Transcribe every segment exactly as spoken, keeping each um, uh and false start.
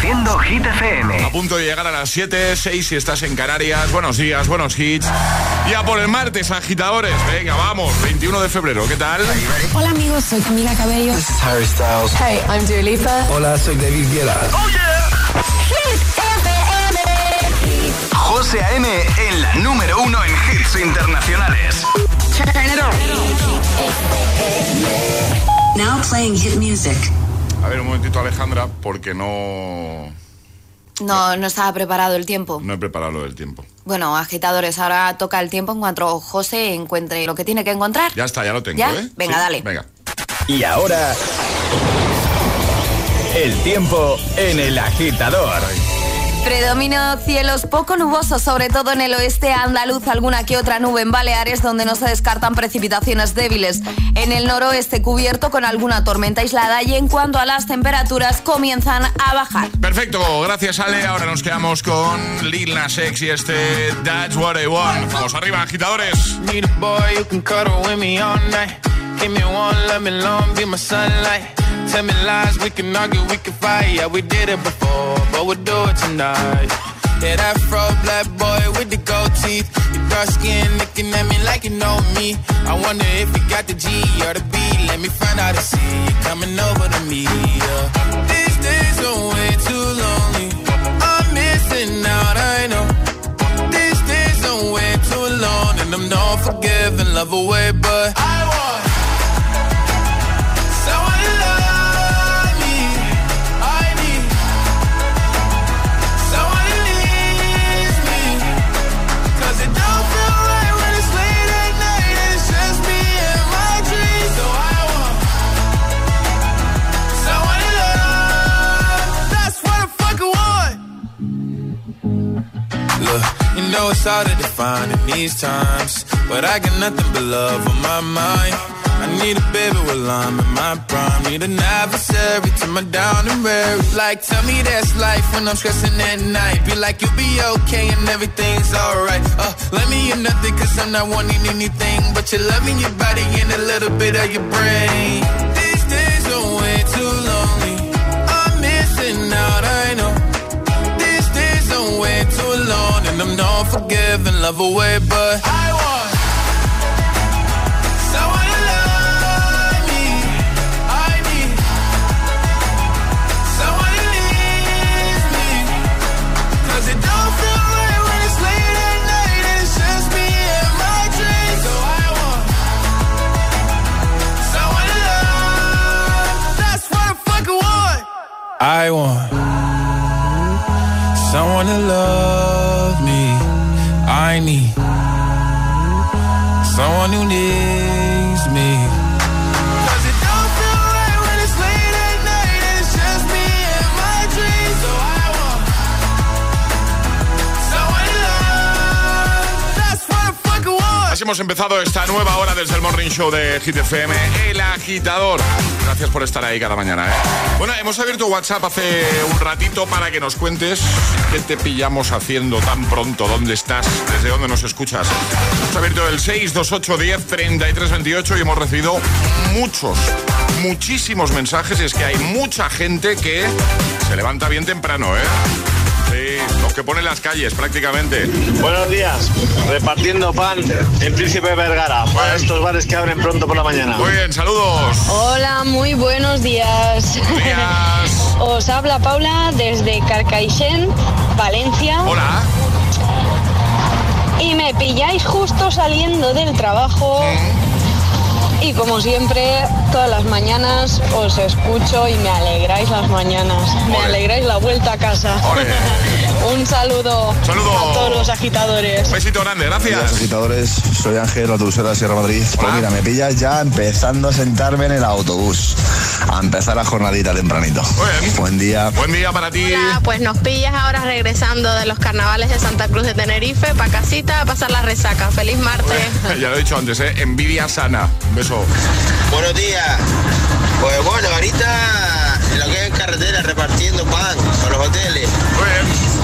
Haciendo Hit F M. A punto de llegar a las siete, seis si estás en Canarias. Buenos días, buenos hits. Ya por el martes, agitadores. Venga, vamos, veintiuno de febrero, ¿qué tal? Hola amigos, soy Camila Cabello. This is Harry Styles. Hey, I'm Dua Lipa. Hola, soy David Guetta. ¡Oh, yeah! Hit F M. José A M en la número uno en hits internacionales. Turn it on. Now playing hit music. A ver, un momentito, Alejandra, porque no... No, no estaba preparado el tiempo. No he preparado lo del tiempo. Bueno, agitadores, ahora toca el tiempo en cuanto José encuentre lo que tiene que encontrar. Ya está, ya lo tengo, ¿Ya? ¿eh? Venga, sí, dale. Venga. Y ahora... el tiempo en el agitador. Predomina cielos poco nubosos, sobre todo en el oeste andaluz, alguna que otra nube en Baleares, donde no se descartan precipitaciones débiles. En el noroeste cubierto con alguna tormenta aislada y en cuanto a las temperaturas comienzan a bajar. Perfecto, gracias Ale. Ahora nos quedamos con Lil Nas X y este That's What I Want. Vamos arriba, agitadores. Need a boy who can cuddle with me all night. Give me one, let me long, be my sunlight. Tell me lies, we can argue, we can fight. Yeah, we did it before, but we'll do it tonight. Yeah, that fro black boy with the gold teeth. Your dark skin looking at me like you know me. I wonder if you got the G or the B. Let me find out and see you coming over to me. Yeah. These days are way too lonely. I'm missing out, I know. These days are way too long, and I'm not forgiving, love away, but I want someone to love me. I need someone who needs me. Cause it don't feel right when it's late at night and it's just me and my dreams. So I want someone to love. That's what I fucking want. Look, you know it's hard to define in these times, but I got nothing but love on my mind. I need a baby while I'm in my prime. Need an adversary to my down and weary. Like, tell me that's life when I'm stressing at night. Be like, you'll be okay and everything's alright. Uh, let me in nothing cause I'm not wanting anything but your love in your body and a little bit of your brain. These days are way too lonely. I'm missing out, I know. These days are way too long, and I'm not forgiving, love away, but I want someone to love me. I need someone who needs me. Cause it don't feel right when it's late at night and it's just me and my dreams. So I want someone to love. That's what I fucking want. I want someone to love me. I need someone who needs me. Cause it don't feel right when it's late at night and it's just me and my dreams. So I want someone to love. That's what I fucking want. Así hemos empezado esta nueva hora desde el Morning Show de Hit F M, El Agitador. Gracias por estar ahí cada mañana, ¿eh? Bueno, hemos abierto WhatsApp hace un ratito para que nos cuentes qué te pillamos haciendo tan pronto, dónde estás, desde dónde nos escuchas. Hemos abierto el seis dos ocho diez treinta y tres veintiocho y hemos recibido muchos, muchísimos mensajes. Y es que hay mucha gente que se levanta bien temprano, ¿eh? Sí, los que ponen las calles prácticamente. Buenos días, repartiendo pan en Príncipe Vergara para estos bares que abren pronto por la mañana. Muy bien, saludos. Hola, muy buenos días. Buenos días. Os habla Paula desde Carcaixent, Valencia. Hola. Y me pilláis justo saliendo del trabajo. Y como siempre, todas las mañanas os escucho y me alegráis las mañanas. Me Olé. alegráis la vuelta a casa. Un saludo, Saludo a todos los agitadores. Un besito grande, gracias. Hola, agitadores, soy Ángel, autobusero de Sierra Madrid. Hola. Pues mira, me pillas ya empezando a sentarme en el autobús, a empezar la jornadita tempranito. Bien. Buen día. Buen día para ti. Hola, pues nos pillas ahora regresando de los carnavales de Santa Cruz de Tenerife para casita a pasar la resaca. Feliz martes. Bueno, ya lo he dicho antes, ¿eh? Envidia sana. Un beso. Buenos días. Pues bueno, ahorita en lo que es carretera repartiendo pan a los hoteles. Muy bien.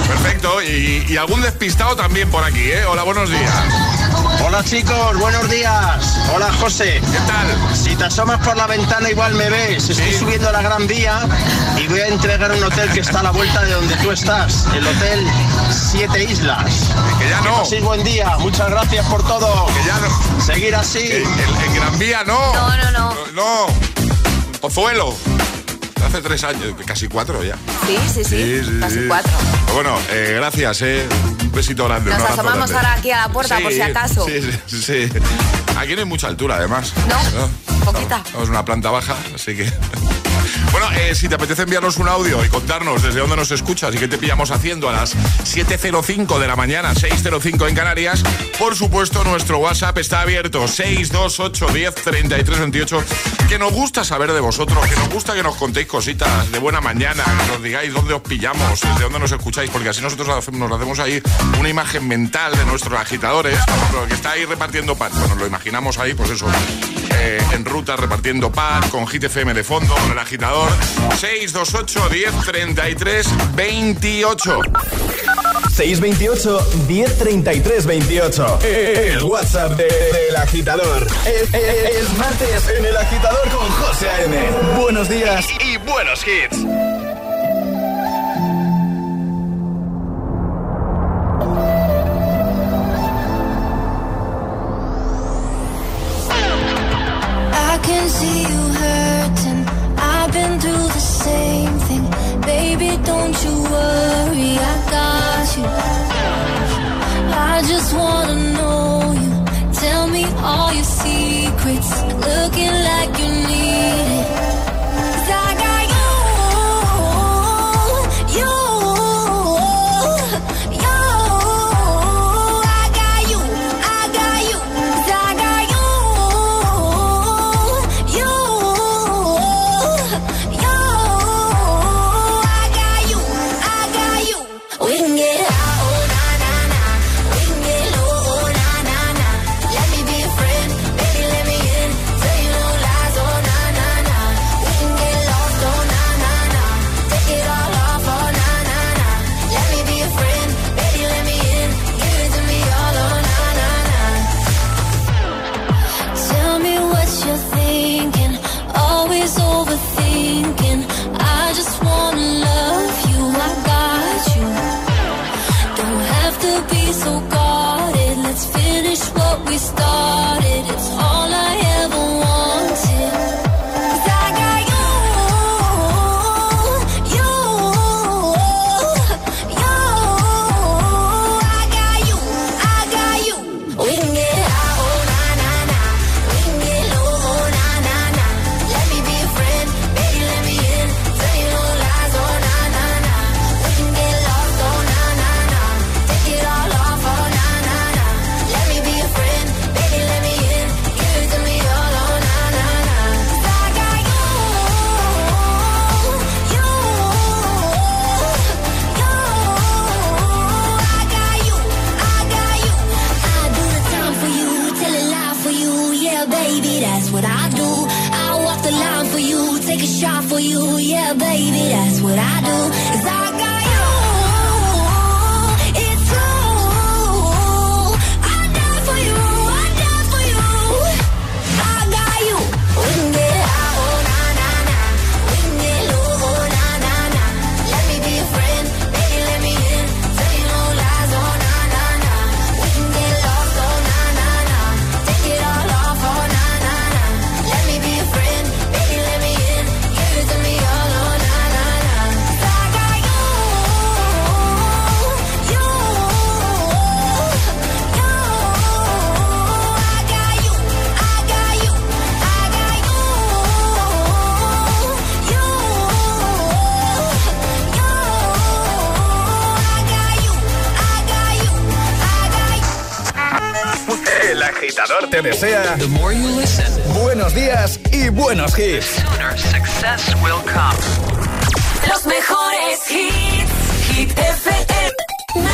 Perfecto, y, y algún despistado también por aquí, ¿eh? Hola, buenos días. Hola chicos, buenos días. Hola José. ¿Qué tal? Si te asomas por la ventana igual me ves. Estoy ¿Sí? subiendo la Gran Vía y voy a entregar un hotel que está a la vuelta de donde tú estás. El Hotel Siete Islas. Que ya no. Sí, buen día. Muchas gracias por todo. Que ya no. Seguir así. En, en, en Gran Vía no. No, no, no. No. no. Pozuelo. Hace tres años, casi cuatro ya. Sí, sí, sí, sí, sí casi sí. cuatro. Bueno, eh, gracias, eh. Un besito grande. Nos asomamos ahora aquí a la puerta, sí, por si acaso. Sí, sí, sí. Aquí no hay mucha altura, además. No, ¿no? Poquita. No, es una planta baja, así que... Bueno, eh, si te apetece enviarnos un audio y contarnos desde dónde nos escuchas y qué te pillamos haciendo a las siete cero cinco de la mañana, seis cero cinco en Canarias, por supuesto nuestro WhatsApp está abierto, seis dos ocho, diez, treinta y tres, veintiocho, que nos gusta saber de vosotros, que nos gusta que nos contéis cositas de buena mañana, que nos digáis dónde os pillamos, desde dónde nos escucháis, porque así nosotros nos hacemos ahí una imagen mental de nuestros agitadores, por ejemplo, que está ahí repartiendo pan, bueno, lo imaginamos ahí, pues eso, eh, en ruta repartiendo pan, con Hit F M de fondo, con el agitador. seis dos ocho, diez, treinta y tres, veintiocho. seis veintiocho, diez, treinta y tres, veintiocho. El WhatsApp del de, de agitador. Es, es, es martes en el agitador con José A M. Buenos días y, y buenos hits. I can see you hurting. I've been through the same thing. Baby, don't you worry, I got you. I just wanna know you. Tell me all your secrets. Looking like you need it. 'Cause I got you, you, you. I got you, I got you. 'Cause I got you, you. We can get high, oh na na na. We can get low, oh na na na. Let me be a friend, baby, let me in. Tell you no lies, oh na na na. We can get lost, oh na na na. Take it all off, oh na na na. Let me be a friend, baby, let me in. Give it to me all, oh na na na. Tell me what you're thinking, always overthinking. I just wanna love you, I got you. Don't have to be so guarded. Let's finish what we started. It's all I ever wanted. 'Cause I got you, you, you. I got you, I got you. We can get high, oh na na na. We can get low, oh na na na. Let me be a friend, baby, let me in. Tell you no lies, oh na na na. We can get lost, oh na na na. Take it all off, oh na na na. Let me be a friend, baby, let me in. Give it to me all, oh na na na. 'Cause I got you, you, you. I got you, I got you. I do the time for you, tell it loud for you. Yeah, baby, that's what I do. I walk the line for you, take a shot for you. Yeah, baby, that's what I do. 'Cause I got you, it's true. I die for you, I die for you. I got you. We can get high, oh na na na. We can get low, oh na na na. Let me be a friend, baby, let me in. Tell you no lies, oh na na na. We can get lost, oh na na na. Take it all off, oh na na na. Let me be a friend, baby, let me in. Give it to me all, oh na na na. 'Cause I got you, you, you. I got you, I got you, I got you, you, you. I got you, I got you. El agitador te desea buenos días y buenos hits. Success will come. Los mejores hits, Hit F M.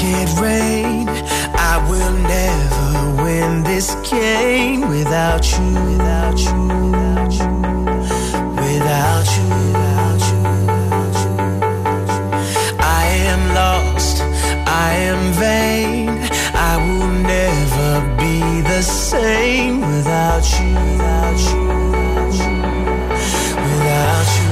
it rain, I will never win this game without you, without you, without you, without you, without you, without you. I am lost, I am vain, I will never be the same without you, without you, without you, without you.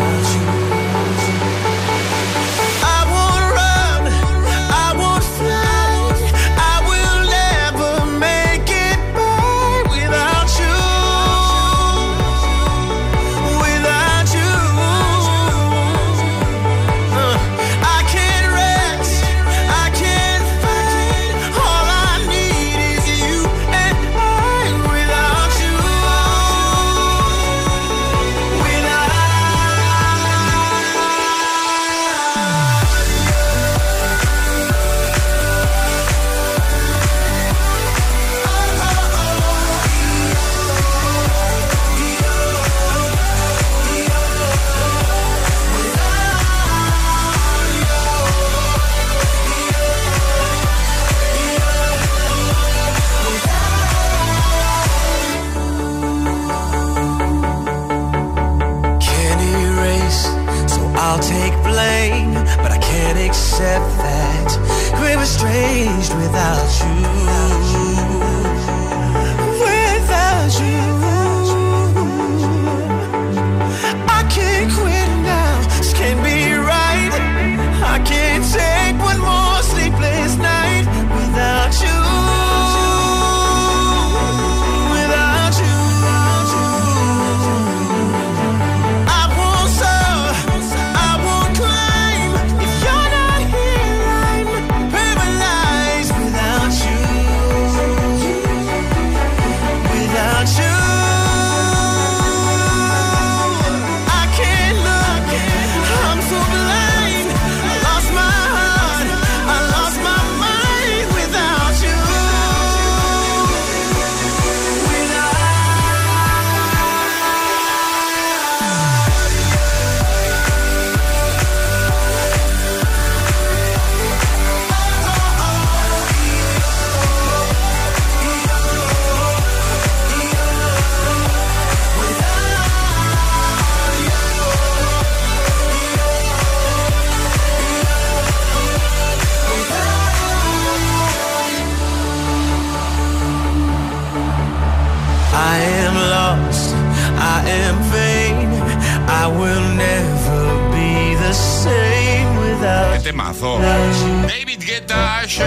Temazo. David Guetta, Asher.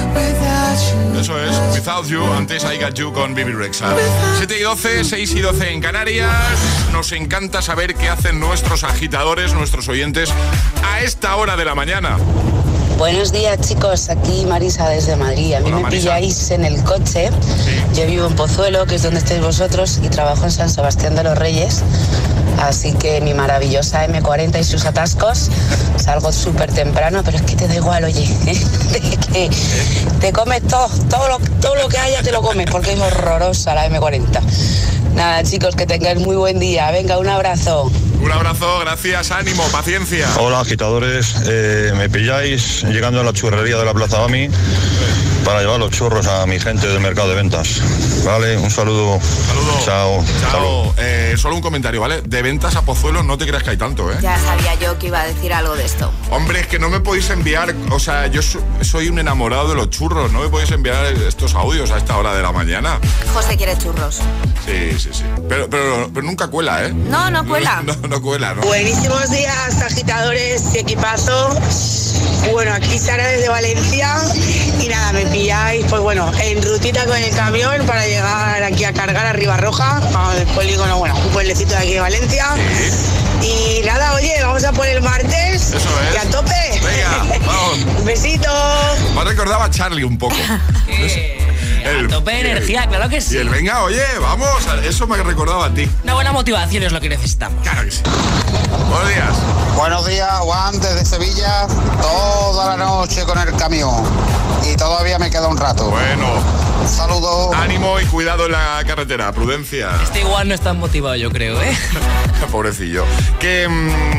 Eso es, Without You. Antes I Got You con Bibi Rexha. siete y doce, seis y doce en Canarias. Nos encanta saber qué hacen nuestros agitadores, nuestros oyentes a esta hora de la mañana. Buenos días, chicos, aquí Marisa desde Madrid. A mí Hola, me Marisa. pilláis en el coche. Sí. Yo vivo en Pozuelo, que es donde estáis vosotros, y trabajo en San Sebastián de los Reyes. Así que mi maravillosa eme cuarenta y sus atascos, salgo súper temprano, pero es que te da igual, oye, ¿eh? que te comes todo, todo lo, todo lo que haya te lo comes, porque es horrorosa la eme cuarenta. Nada, chicos, que tengáis muy buen día. Venga, un abrazo. Un abrazo, gracias, ánimo, paciencia. Hola, agitadores. Eh, me pilláis llegando a la churrería de la Plaza Bami para llevar los churros a mi gente del mercado de ventas. Vale, un saludo. Saludo. Chao. Chao. Eh, solo un comentario, ¿vale? De ventas a Pozuelo no te creas que hay tanto, ¿eh? Ya sabía yo que iba a decir algo de esto. Hombre, es que no me podéis enviar, o sea, yo so, soy un enamorado de los churros, no me podéis enviar estos audios a esta hora de la mañana. José quiere churros. Sí, sí, sí. Pero, pero, pero nunca cuela, ¿eh? No, no cuela. No, no, no cuela, ¿no? Buenísimos días, agitadores y equipazo. Bueno, aquí Sara desde Valencia y nada, me pilláis, pues bueno, en rutita con el camión para llegar aquí a cargar a Ribarroja, al polígono, bueno, un pueblecito de aquí de Valencia. Sí. Y nada, oye, vamos a por el martes. Eso es. Y a tope. Venga, vamos. Un besito. Me recordaba a Charlie un poco. El, a tope de energía, el, claro que sí. Y el venga, oye, vamos, eso me recordaba a ti. Una buena motivación es lo que necesitamos. Claro que sí. Buenos días. Buenos días, Juan, desde Sevilla, toda la noche con el camión. Y todavía me queda un rato. Bueno. Saludos. Ánimo y cuidado en la carretera, prudencia. Este igual no es tan motivado, yo creo, ¿eh? Pobrecillo. Que mmm,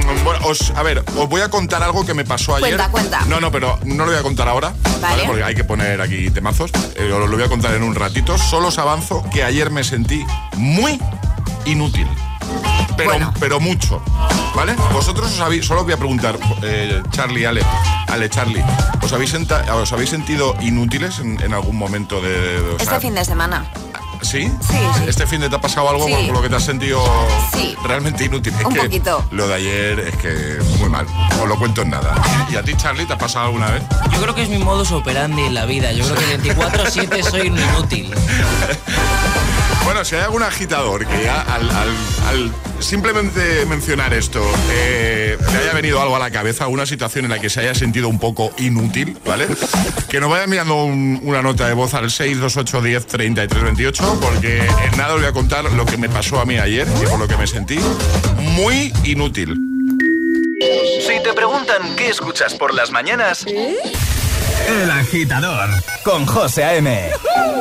bueno, os, a ver, os voy a contar algo que me pasó ayer. Cuenta, cuenta. No, no, pero no lo voy a contar ahora, ¿vale? ¿vale? Porque hay que poner aquí temazos. Eh, os lo voy a contar en un ratito. Solo os avanzo que ayer me sentí muy inútil. Pero, bueno. pero mucho, ¿vale? Vosotros os habéis, solo os voy a preguntar, eh, Charlie, Ale, Ale, Charlie, ¿os habéis, senta, ¿os habéis sentido inútiles en, en algún momento de, de o Este sea, fin de semana. ¿Sí? Sí, sí. ¿Este fin de te ha pasado algo sí. por lo que te has sentido sí. realmente inútil? Es Un que poquito. Lo de ayer es que muy mal, os lo cuento en nada. ¿Y a ti, Charlie, te ha pasado alguna vez? Yo creo que es mi modus operandi en la vida. Yo creo que veinticuatro siete soy un inútil. Bueno, si hay algún agitador que ya al, al, al simplemente mencionar esto eh, le haya venido algo a la cabeza, alguna situación en la que se haya sentido un poco inútil, ¿vale? Que nos vaya enviando un, una nota de voz al seis dos ocho uno cero treinta y tres veintiocho, porque en nada os voy a contar lo que me pasó a mí ayer y por lo que me sentí muy inútil. Si te preguntan qué escuchas por las mañanas, El Agitador con José A M.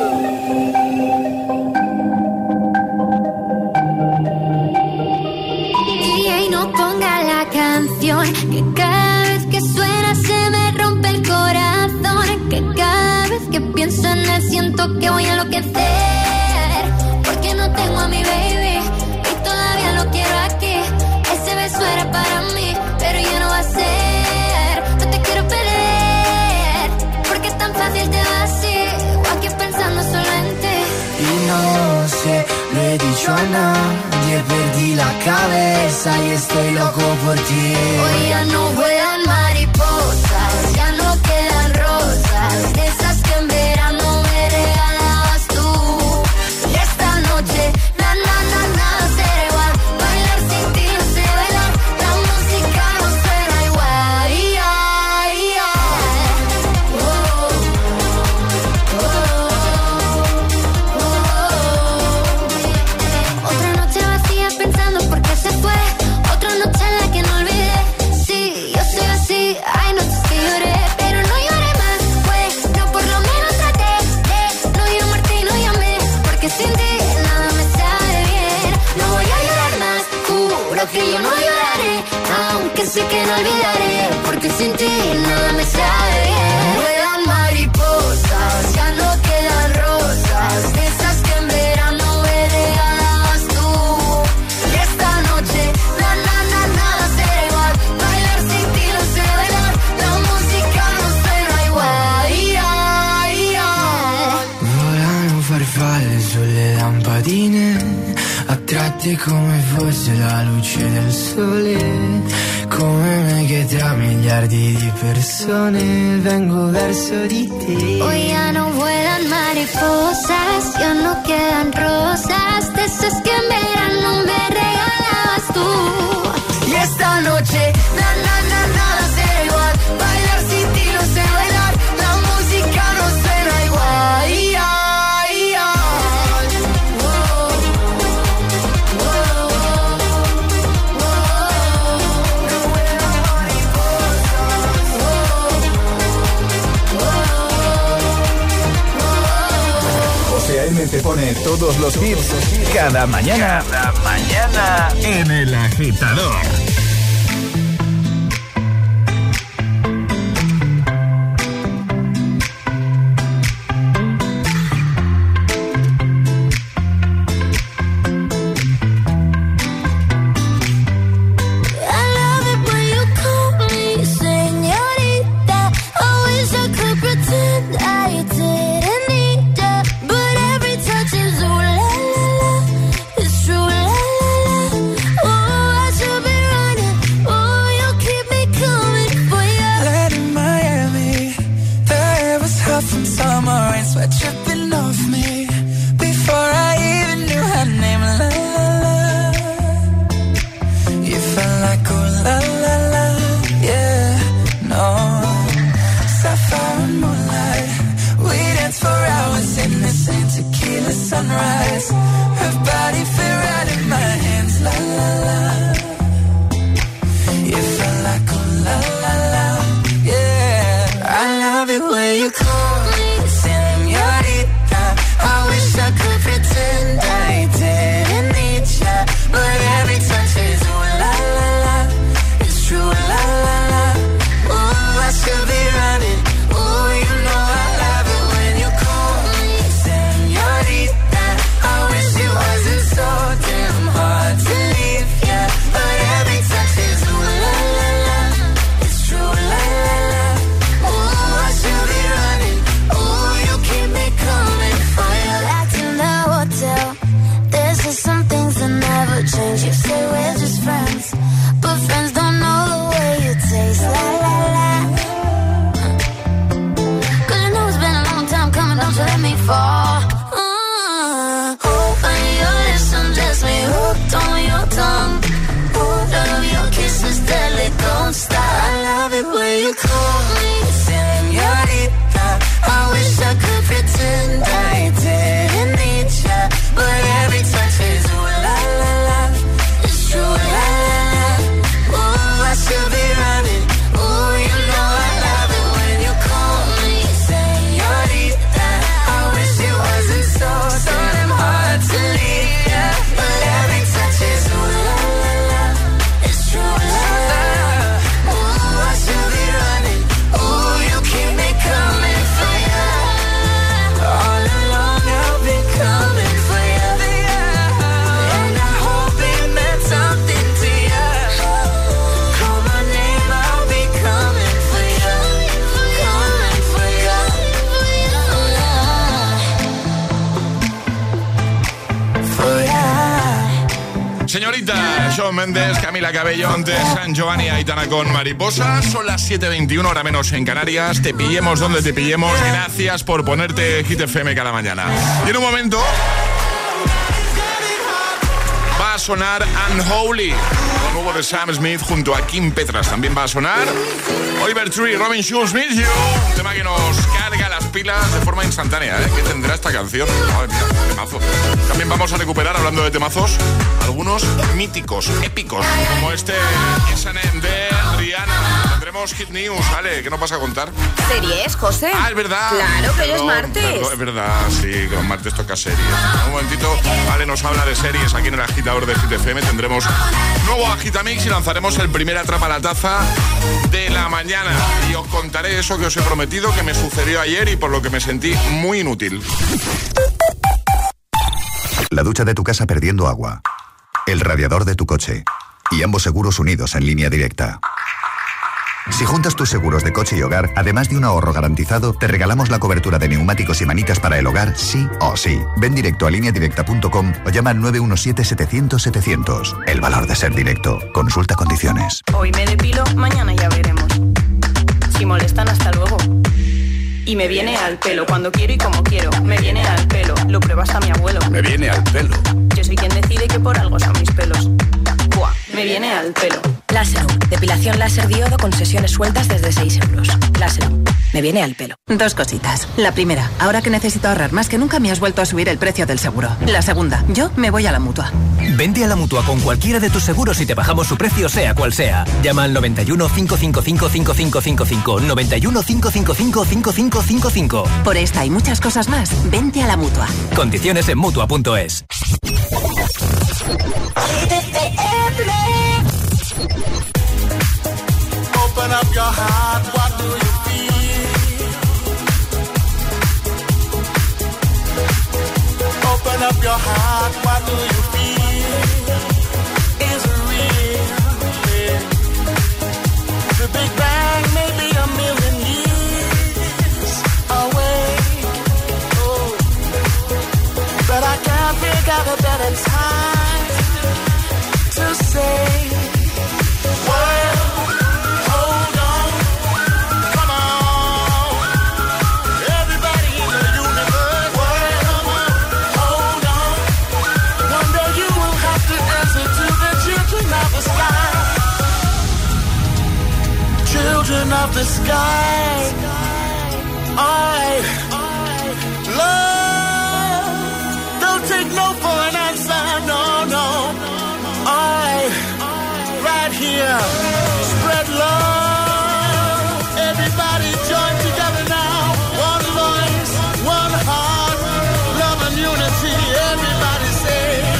No ponga la canción, que cada vez que suena se me rompe el corazón, que cada vez que pienso en él siento que voy a enloquecer, porque no tengo a mi baby y todavía lo quiero aquí. Ese beso era para mí, pero ya no va a ser. No te quiero perder, porque es tan fácil te va así, o aquí pensando solo en ti. Y no sé, lo he dicho a nadie, perdí la cabeza y estoy loco por ti. Hoy ya no vuelan mariposas, ya no quedan rosas, de esas que en verano me regalabas tú. Y esta noche, na na na nada será igual, bailar sin ti no sé bailar, la música no suena igual. Yeah, yeah. Oh, oh, oh. Otra noche vacía pensando por qué se fue, otra noche en la que no olvidé. Sí, yo soy así, hay noches que lloré, pero no lloré más, pues, no, por lo menos traté de no llamarte y no llamé, porque sin ti nada me sabe bien. No voy a llorar más, juro que yo no lloraré, aunque sé que no olvidaré, porque sin ti nada me sabe bien. Vuelan mariposas, ya no quedan rosas, de esas que en verano me regalabas tú. Y esta noche, na na na nada será igual, bailar sin ti no sé bailar, la música no suena igual. Yeah, yeah. Volano farfalle sulle lampadine, attratti come fosse la luce del sole, come me che tra miliardi di persone vengo verso di te. Hoy ya no vuelan mariposas, ya no quedan rosas, de esas que en verano me regalabas tú. Y esta noche, na na na nada será igual, bailar sin ti no sé bailar, la música no suena igual. Yeah, yeah. Oh, oh, oh. No vuelan mariposas. Oh, José A M te pone todos los hits cada mañana. Cada mañana en El Agitador. I love it when you call me señorita. I wish I could pretend I didn't need ya, but every touch is ooh la la la, it's true la la la. Oh, I should be running. Oh, you keep me coming for ya. Land in Miami, the air was hot from summer rain, sweat dripping off me before I even knew her name. La la la, you felt like oh la la la, yeah, no. Sapphire and moonlight, we danced for hours in the same tequila sunrise. Her body fit right in my hands, la la la. You felt like oh la la la, yeah. I love it when you call me señorita. I wish I could pretend I didn't need ya, but every touch is ooh la la la, Señorita, Shawn Mendes, Camila Cabello, antes San Giovanni, Aitana con Mariposa. Son las siete veintiuno, hora menos en Canarias. Te pillemos donde te pillemos. Gracias por ponerte Hit F M cada mañana. Y en un momento va a sonar Unholy, lo nuevo de Sam Smith junto a Kim Petras. También va a sonar Oliver Tree, Robin Schulz, Miss You, un tema que nos carga las pilas de forma instantánea, ¿eh? ¿Qué tendrá esta canción? Madre mía, temazo. También vamos a recuperar, hablando de temazos, algunos míticos, épicos, como este S and M de Rihanna. Tendremos Hit News, ¿vale? ¿Qué nos vas a contar? ¿Series, José? Ah, es verdad. Claro, que hoy es martes. Perdón, es verdad, sí, que los martes toca series. Un momentito, Vale nos habla de series aquí en el agitador de Hit F M. Tendremos nuevo Agitamix y lanzaremos el primer Atrapa la Taza de la mañana. Y os contaré eso que os he prometido, que me sucedió ayer y por lo que me sentí muy inútil. La ducha de tu casa perdiendo agua, el radiador de tu coche y ambos seguros unidos en línea directa. Si juntas tus seguros de coche y hogar, además de un ahorro garantizado, te regalamos la cobertura de neumáticos y manitas para el hogar, sí o sí. Ven directo a línea directa punto com o llama al nueve uno siete, setecientos, setecientos. El valor de ser directo. Consulta condiciones. Hoy me depilo, mañana ya veremos. Si molestan, hasta luego. Y me viene al pelo, cuando quiero y como quiero. Me viene al pelo, lo prueba hasta mi abuelo. Me viene al pelo. Yo soy quien decide que por algo son mis pelos. Buah, me viene al pelo. Láserum, depilación láser diodo con sesiones sueltas desde seis euros. Láserum, me viene al pelo. Dos cositas. La primera, ahora que necesito ahorrar más que nunca me has vuelto a subir el precio del seguro. La segunda, yo me voy a la Mutua. Vente a la Mutua con cualquiera de tus seguros y te bajamos su precio sea cual sea. Llama al noventa y uno, cinco cinco cinco, cinco cinco cinco cinco, noventa y uno, cinco cinco cinco, cinco cinco cinco cinco. Por esta y muchas cosas más, vente a la Mutua. Condiciones en Mutua punto es. Open up your heart, what do you feel? Open up your heart, what do you feel? Is it real? The Big Bang may be a million years away. Oh, but I can't figure out a better time to say, well, children of the sky, I love, don't take no for an answer, no, no, I, right here, spread love, everybody join together now, one voice, one heart, love and unity, everybody say,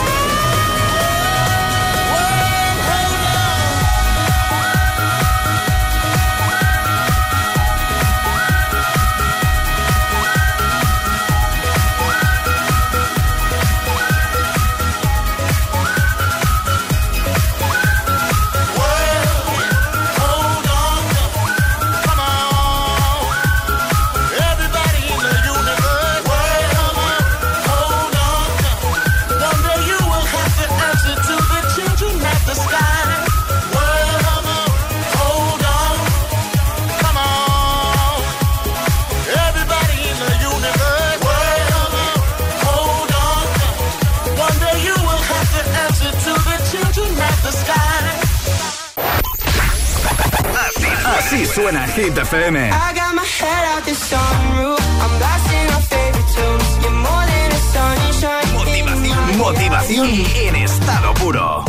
Así suena Hit F M. Motivación, motivación en estado puro.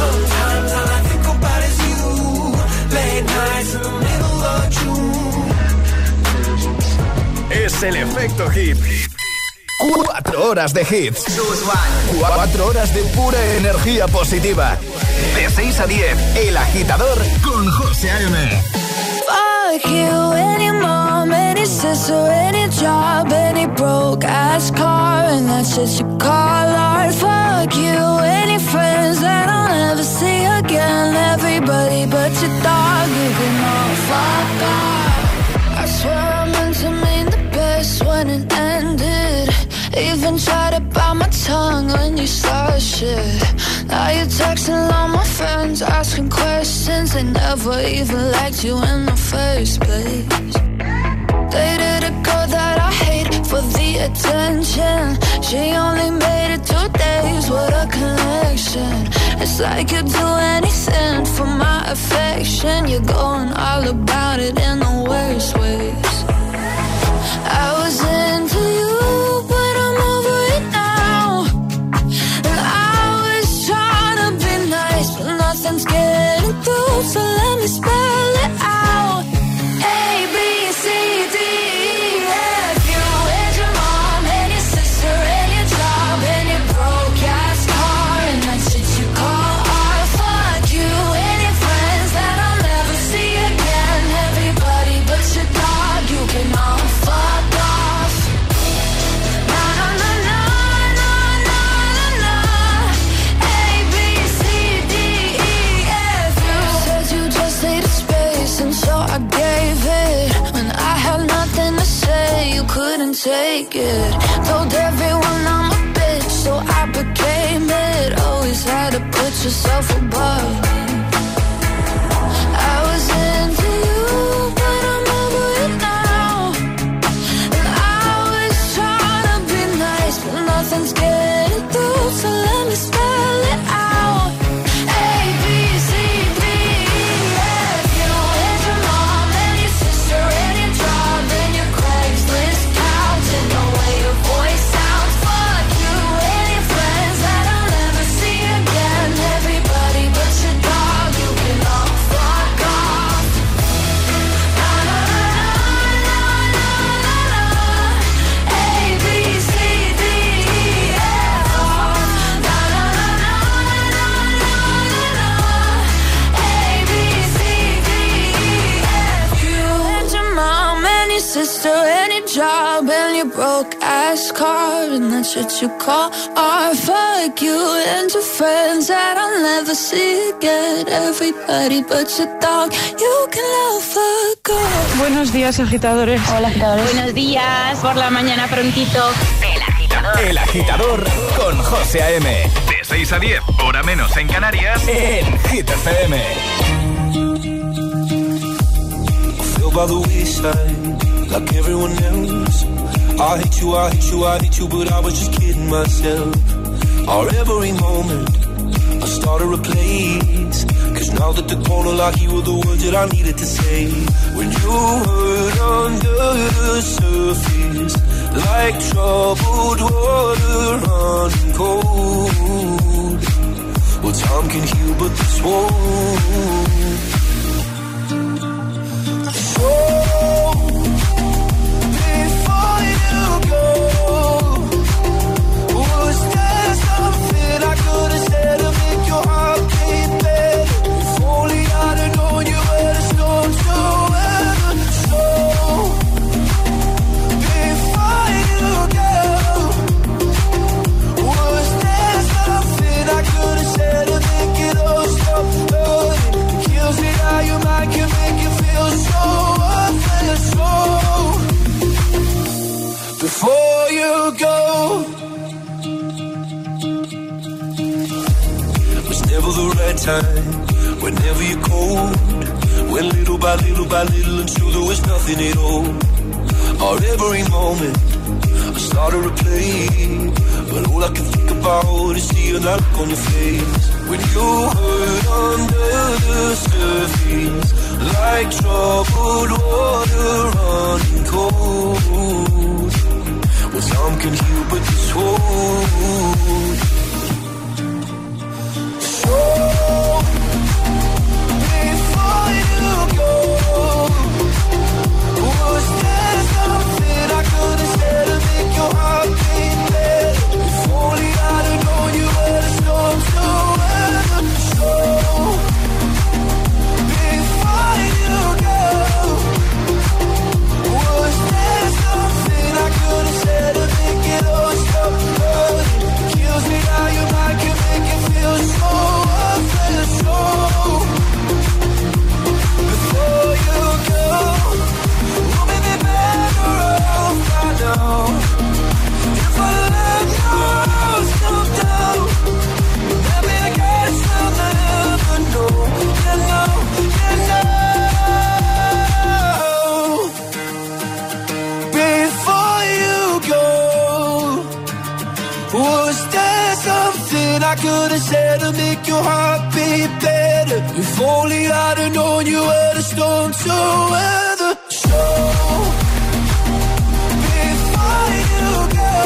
Es el efecto hit. Cuatro horas de hits. Cuatro horas de pura energía positiva. De seis a diez, El Agitador con José A M. Fuck you, any mom, any sister, any job, any broke ass car, and that's just your call art. Fuck you, any friends that I'll never see again. Everybody but your dog, you can all fuck off. I swear I meant to mean the best when it ended. Even tried to bite my tongue when you start shit. Now you're texting all my friends, asking questions. They never even liked you in the first place. Dated a girl that I hate for the attention. She only made it two days, what a connection. It's like you'd do anything for my affection. You're going all about it in the worst ways. I was into you, but I'm over it now. And I was trying to be nice, but nothing's getting through. So let me spell it out. A, B, C, D, E, F, you and your mom and your sister and your job and your broke-ass car and that shit you call art. Fuck you and your friends that I'll never see again. Everybody but your dog, you can all fuck off. Na na na na na na na na. A, B, C, D, E, F, you said you just needed space and so I gave it. When I had nothing to say, you couldn't take it. Told everyone I'm a bitch, so I became it. Always had to put yourself above me. I was into you, but I'm over it now. And I was trying to be nice, but nothing's getting through. So let me spell it out. A, B, C, D, E, F, you and your mom and your sister and your job and your Craigslist couch and the way your voice sounds. Fuck you and your friends that I'll never see again. Everybody but your dog, you can all fuck off. Na na na na na na na. A, B, C, D, E, F, na na na na na na na. A, B, C, D, E, F, you and your mom and your sister and your job and your broke ass car and that shit you call art. Fuck you and your friends that I'll never see again. Everybody but your dog, you can love fuck off. Buenos días, agitadores. Hola, agitadores. Buenos días, por la mañana prontito. El agitador. El Agitador con José A M. De seis a diez, hora menos en Canarias, en Hit F M. Feel by the wayside, like everyone else. I hate you, I hate you, I hate you, but I was just kidding myself. Our every moment, I started a place. Cause now that the corner like you were the words that I needed to say. When you hurt under the surface, like troubled water running cold. Well, time can heal, but this won't. So before you go, was there something I could have said to make your heart beat better? If only I'd have known you were the storm to weather. So before you go, was there something I could have said to make it all stop hurting? It kills me how your mind can make you feel so worthless. So before you go, was never the right time, whenever you're cold. Went little by little by little until there was nothing at all. Our every moment, I started to play, but all I can think about is seeing that look on your face. When you hurt under the surface, like troubled water running cold. Well, some can heal, but this won't. So before you go, was there something I could have said to make your heart beat better? If only I'd have known you were the storm to weather. So before you go, was there something I could have said to make it all stop hurting? It kills me I could have said to make your heart beat better. If only I'd have known you were the storm to weather. So before you go,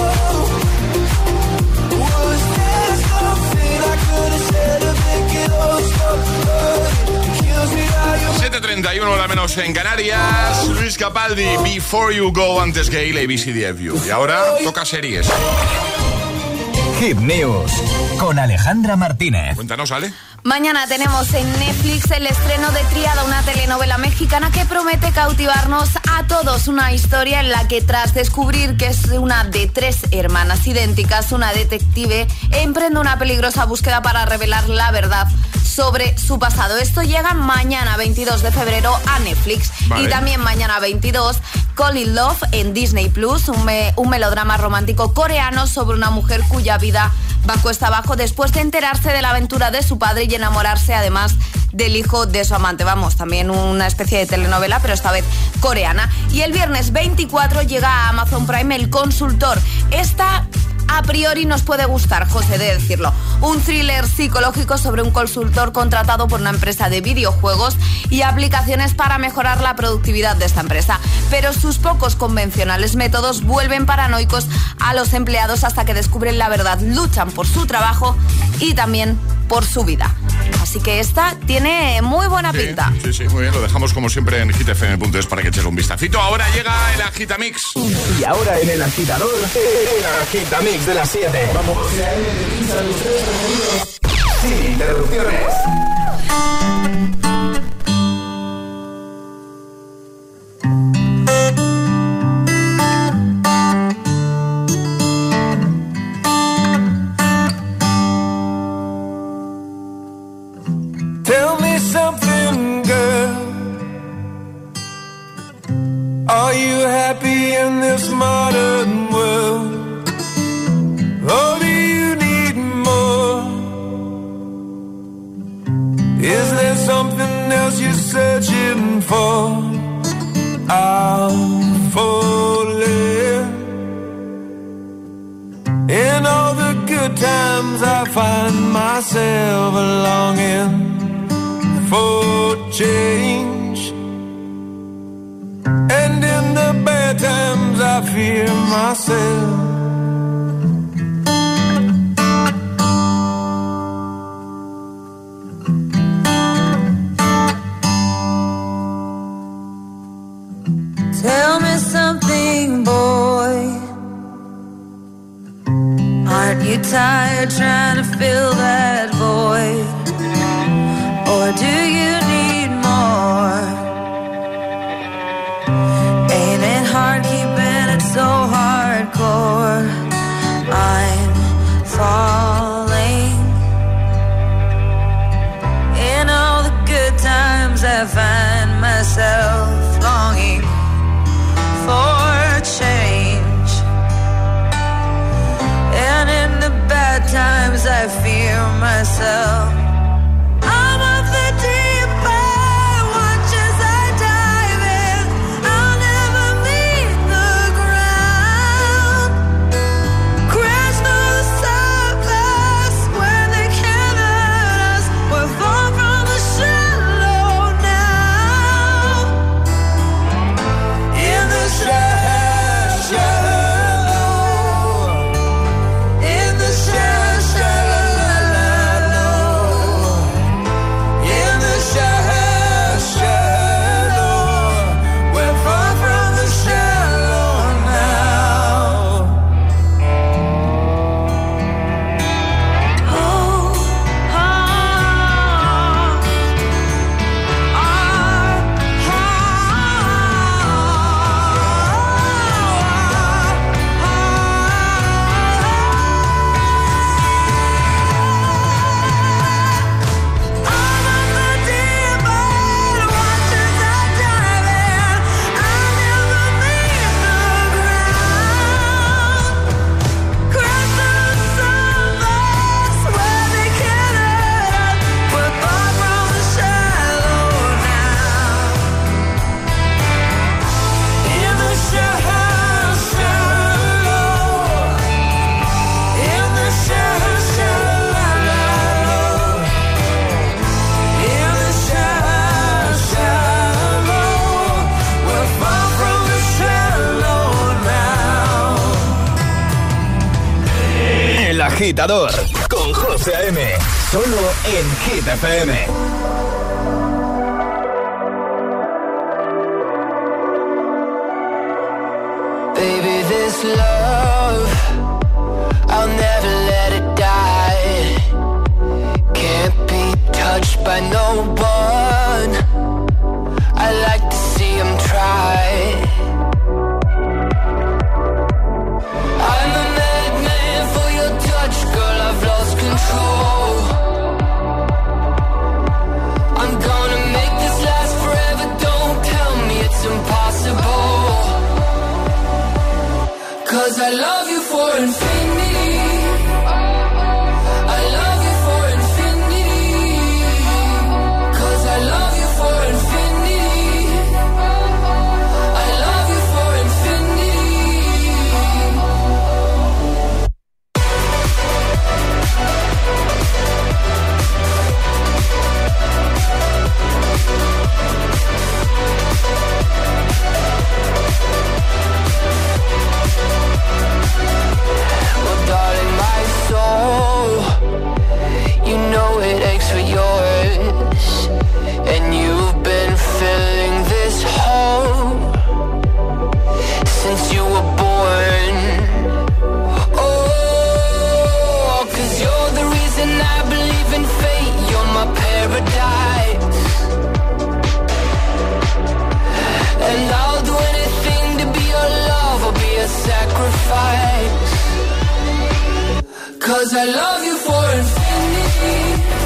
was there something I could have said to make it all stop hurting? It kills me how you siete treinta y uno, hora menos en Canarias. Luis Capaldi, Before You Go, antes Gale, A B C D F U. Y ahora toca series. Hit News con Alejandra Martínez. Cuéntanos, Ale. Mañana tenemos en Netflix el estreno de Tríada, una telenovela mexicana que promete cautivarnos a todos. Una historia en la que, tras descubrir que es una de tres hermanas idénticas, una detective emprende una peligrosa búsqueda para revelar la verdad sobre su pasado. Esto llega mañana veintidós de febrero a Netflix. Vale. Y también mañana veintidós, Call It Love en Disney Plus, un, me, un melodrama romántico coreano sobre una mujer cuya vida va cuesta abajo después de enterarse de la aventura de su padre y enamorarse además del hijo de su amante. Vamos, también una especie de telenovela, pero esta vez coreana. Y el viernes veinticuatro llega a Amazon Prime El Consultor. Esta a priori nos puede gustar, José, de decirlo. Un thriller psicológico sobre un consultor contratado por una empresa de videojuegos y aplicaciones para mejorar la productividad de esta empresa. Pero sus pocos convencionales métodos vuelven paranoicos a los empleados hasta que descubren la verdad, luchan por su trabajo y también por su vida. Así que esta tiene muy buena sí, pinta. Sí, sí, muy bien. Lo dejamos como siempre en hit f m punto es para que eches un vistacito. Ahora llega el Agitamix. Y ahora en el agitador, el Agitamix de las siete. Vamos. Sin interrupciones. Tell me something, girl. Are you happy in this modern world? Or do you need more? Is there something else you're searching for? I'm falling. In all the good times I find myself longing for change, and in the bad times I fear myself. Tell me something, boy. Aren't you tired trying to fill that void? Or do you need more? Ain't it hard keeping it so hardcore? I'm falling. In all the good times I find myself longing for change, and in the bad times I fear myself. agitador con José A M. Solo en Hit F M. Baby, this love, I'll never let it die. Can't be touched by no one. I like to see him try. I'm a madman for your touch, girl, I've lost control. I'm gonna make this last forever, don't tell me it's impossible. 'Cause I love you for infinity. I love you for infinity. 'Cause I love you for infinity. I love you for infinity. Well, darling, my soul, you know it aches for yours, and you've been filling this hole since you were born. Oh, 'cause you're the reason I believe in fate. You're my paradise, and I'll do anything to be your love or be a sacrifice. 'Cause I love you for infinity.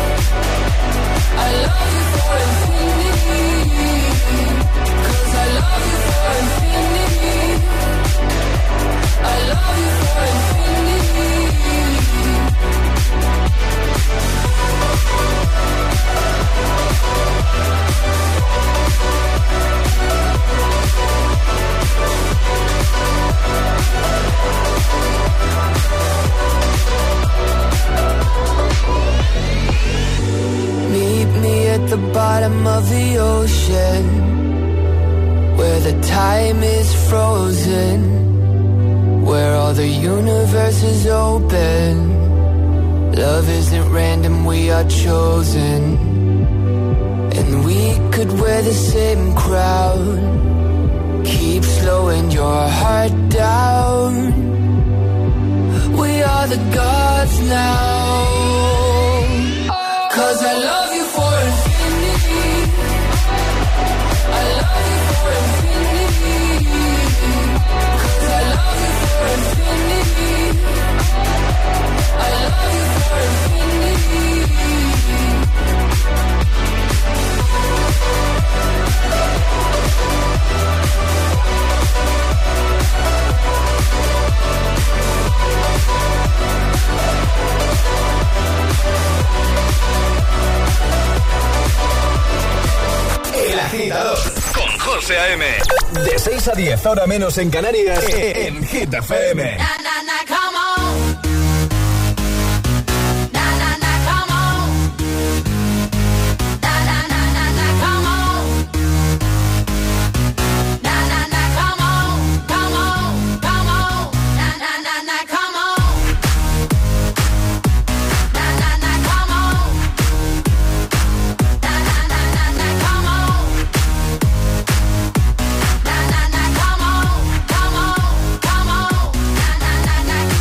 I love you for infinity. 'Cause I love you for infinity. I love you for infinity. Meet me at the bottom of the ocean, where the time is frozen, where all the universe is open. Love isn't random, we are chosen, and we could wear the same crown. Keep slowing your heart down. We are the gods now. 'Cause I love you for infinity. I love you for infinity. 'Cause I love you for infinity. I love you for infinity. El agitador con José A M. De seis a diez, ahora menos en Canarias, en Hit F M. Na, na, na, come on. Na, na, na, come on. Na, na, na, na, na, come on. Na, na, na, come on. Come on, come on. Na, na, na, na, come on. Na, na, na, come on. Na, na, na, na, na, come on. Na, na, na, come on. Come on, come on. Na, na, na, na.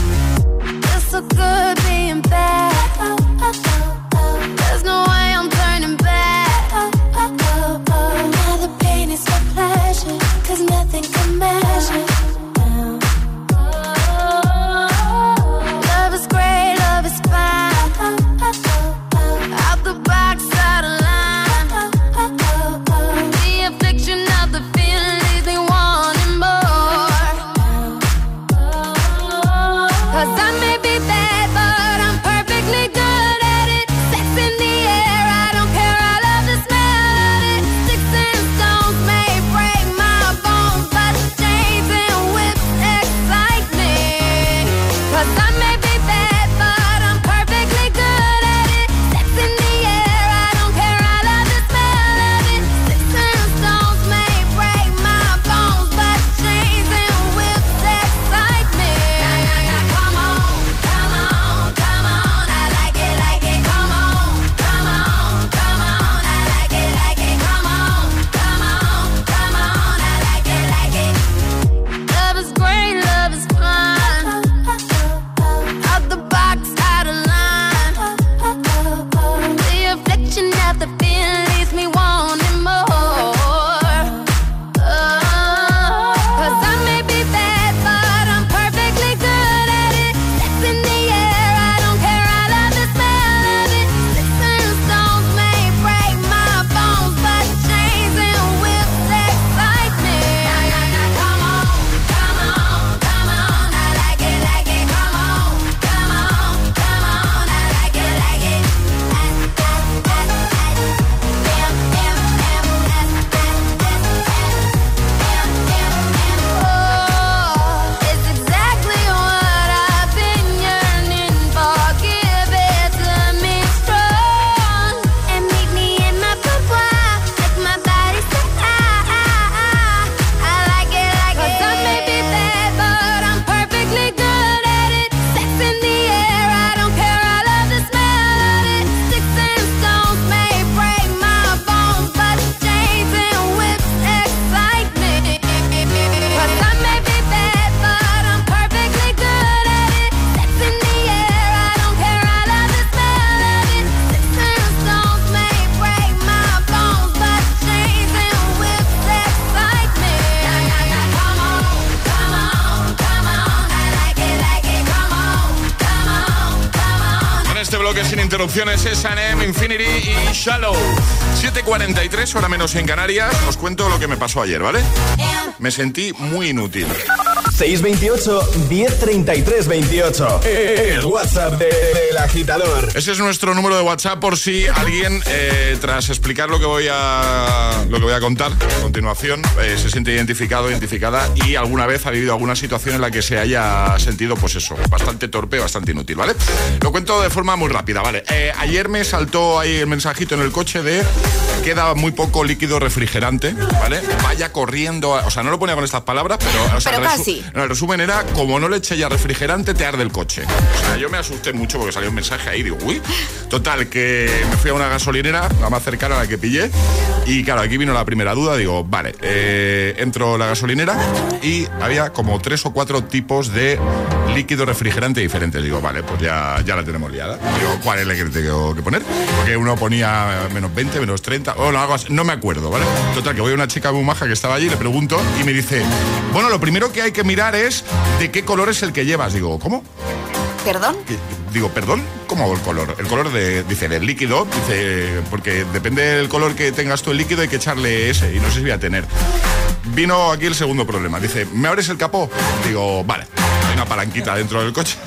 interrupciones, es S and M, Infinity y Shallow. siete cuarenta y tres, hora menos en Canarias. Os cuento lo que me pasó ayer, ¿vale? Me sentí muy inútil. seis veintiocho, diez treinta y tres veintiocho. El WhatsApp de, del agitador. Ese es nuestro número de WhatsApp por si alguien, eh, tras explicar lo que voy a lo que voy a contar a continuación, eh, se siente identificado, identificada y alguna vez ha vivido alguna situación en la que se haya sentido, pues eso, bastante torpe, bastante inútil, ¿vale? Lo cuento de forma muy rápida, ¿vale? Eh, ayer me saltó ahí el mensajito en el coche de queda muy poco líquido refrigerante, ¿vale? Vaya corriendo, a, o sea, no lo ponía con estas palabras, pero... O sea, pero casi. No, el resumen era, como no le eché ya refrigerante, te arde el coche. O sea, yo me asusté mucho porque salió un mensaje ahí, digo, uy. Total, que me fui a una gasolinera, la más cercana a la que pillé, y claro, aquí vino la primera duda, digo, vale, eh, entro a la gasolinera y había como tres o cuatro tipos de líquido refrigerante diferentes. Digo, vale, pues ya, ya la tenemos liada. Digo, ¿cuál es el que tengo que poner? Porque uno ponía menos veinte, menos treinta, o algo así, no me acuerdo, ¿vale? Total, que voy a una chica muy maja que estaba allí, le pregunto y me dice, bueno, lo primero que hay que mirar es de qué color es el que llevas. Digo, ¿cómo? ¿Perdón? Digo, ¿perdón? ¿Cómo el color? El color de, dice, del líquido, dice, porque depende del color que tengas tú el líquido, hay que echarle ese, y no sé si voy a tener. Vino aquí el segundo problema, dice, ¿me abres el capó? Digo, vale, hay una palanquita dentro del coche.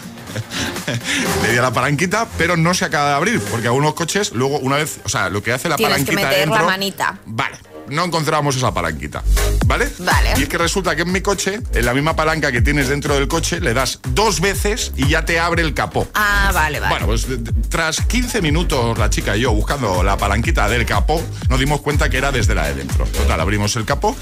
Le di a la palanquita, pero no se acaba de abrir, porque algunos coches, luego una vez, o sea, lo que hace la Tienes palanquita que meter dentro, la manita. Vale. No encontrábamos esa palanquita, ¿vale? Vale. Y es que resulta que en mi coche, en la misma palanca que tienes dentro del coche, le das dos veces y ya te abre el capó. Ah, vale, vale. Bueno, pues tras quince minutos la chica y yo buscando la palanquita del capó, nos dimos cuenta que era desde la de dentro. Total, abrimos el capó,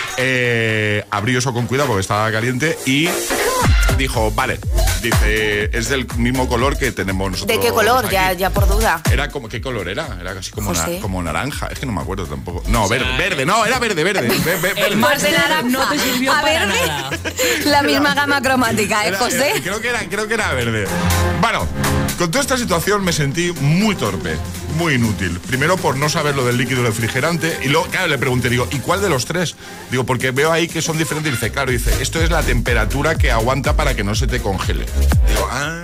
eh, abrió eso con cuidado porque estaba caliente y dijo, vale, dice, es del mismo color que tenemos nosotros. ¿De qué color? Ya, ya por duda. Era como, ¿qué color era? Era casi como, na, como naranja. Es que no me acuerdo tampoco. No, o sea, verde, verde, no, era verde, verde. verde, verde. El máster no te sirvió a para verde, nada. La misma gama cromática, ¿eh, Era, José? era, creo, que era, creo que era verde. Bueno, con toda esta situación me sentí muy torpe, muy inútil. Primero por no saber lo del líquido refrigerante y luego, claro, le pregunté, digo, ¿y cuál de los tres? Digo, porque veo ahí que son diferentes. Y dice, claro, dice, esto es la temperatura que aguanta para que no se te congele. Digo, ah...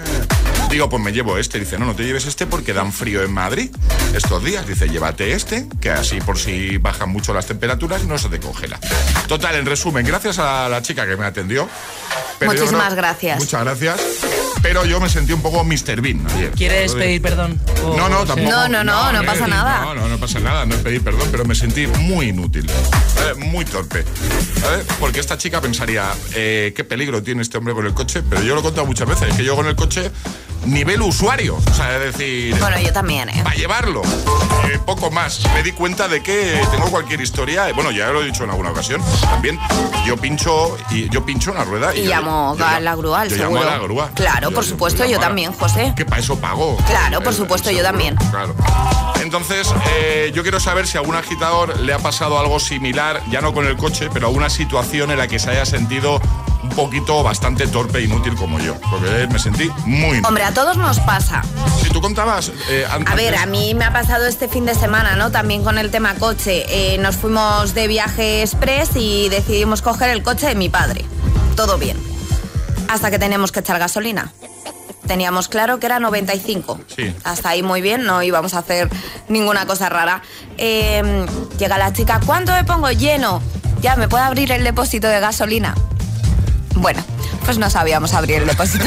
Digo, pues me llevo este. Dice, no, no te lleves este porque dan frío en Madrid estos días. Dice, llévate este, que así por si bajan mucho las temperaturas no se te congela. Total, en resumen, gracias a la chica que me atendió. Pero Muchísimas no, gracias. Muchas gracias. Pero yo me sentí un poco mister Bean ayer. ¿Quieres pedir perdón? O no, no, tampoco. No, no, no, no, no pasa nada. No, no, no pasa nada, no es pedir perdón, pero me sentí muy inútil, ¿vale? Muy torpe, ¿vale? Porque esta chica pensaría, eh, qué peligro tiene este hombre con el coche, pero yo lo he contado muchas veces, que yo con el coche nivel usuario, o sea, es decir... Bueno, yo también, ¿eh? Para llevarlo, eh, poco más. Me di cuenta de que tengo cualquier historia, bueno, ya lo he dicho en alguna ocasión, también, yo pincho y yo pincho una rueda y... Y yo, llamo yo, a la grúa, al yo seguro. llamo a la grúa. Claro, yo, por yo, supuesto, yo, yo también, José. Que para eso pago. Claro, por supuesto, yo también. Claro. Entonces, eh, yo quiero saber si a algún agitador le ha pasado algo similar, ya no con el coche, pero a una situación en la que se haya sentido un poquito bastante torpe e inútil como yo, porque me sentí muy inútil. Hombre, a todos nos pasa. Si tú contabas... Eh, antes... A ver, a mí me ha pasado este fin de semana, ¿no? También con el tema coche. Eh, nos fuimos de viaje express y decidimos coger el coche de mi padre. Todo bien. Hasta que teníamos que echar gasolina. Teníamos claro que era noventa y cinco. Sí. Hasta ahí muy bien, no íbamos a hacer ninguna cosa rara. Eh, llega la chica, ¿cuánto me pongo? Lleno. Ya, ¿me puede abrir el depósito de gasolina? Bueno, pues no sabíamos abrir el depósito.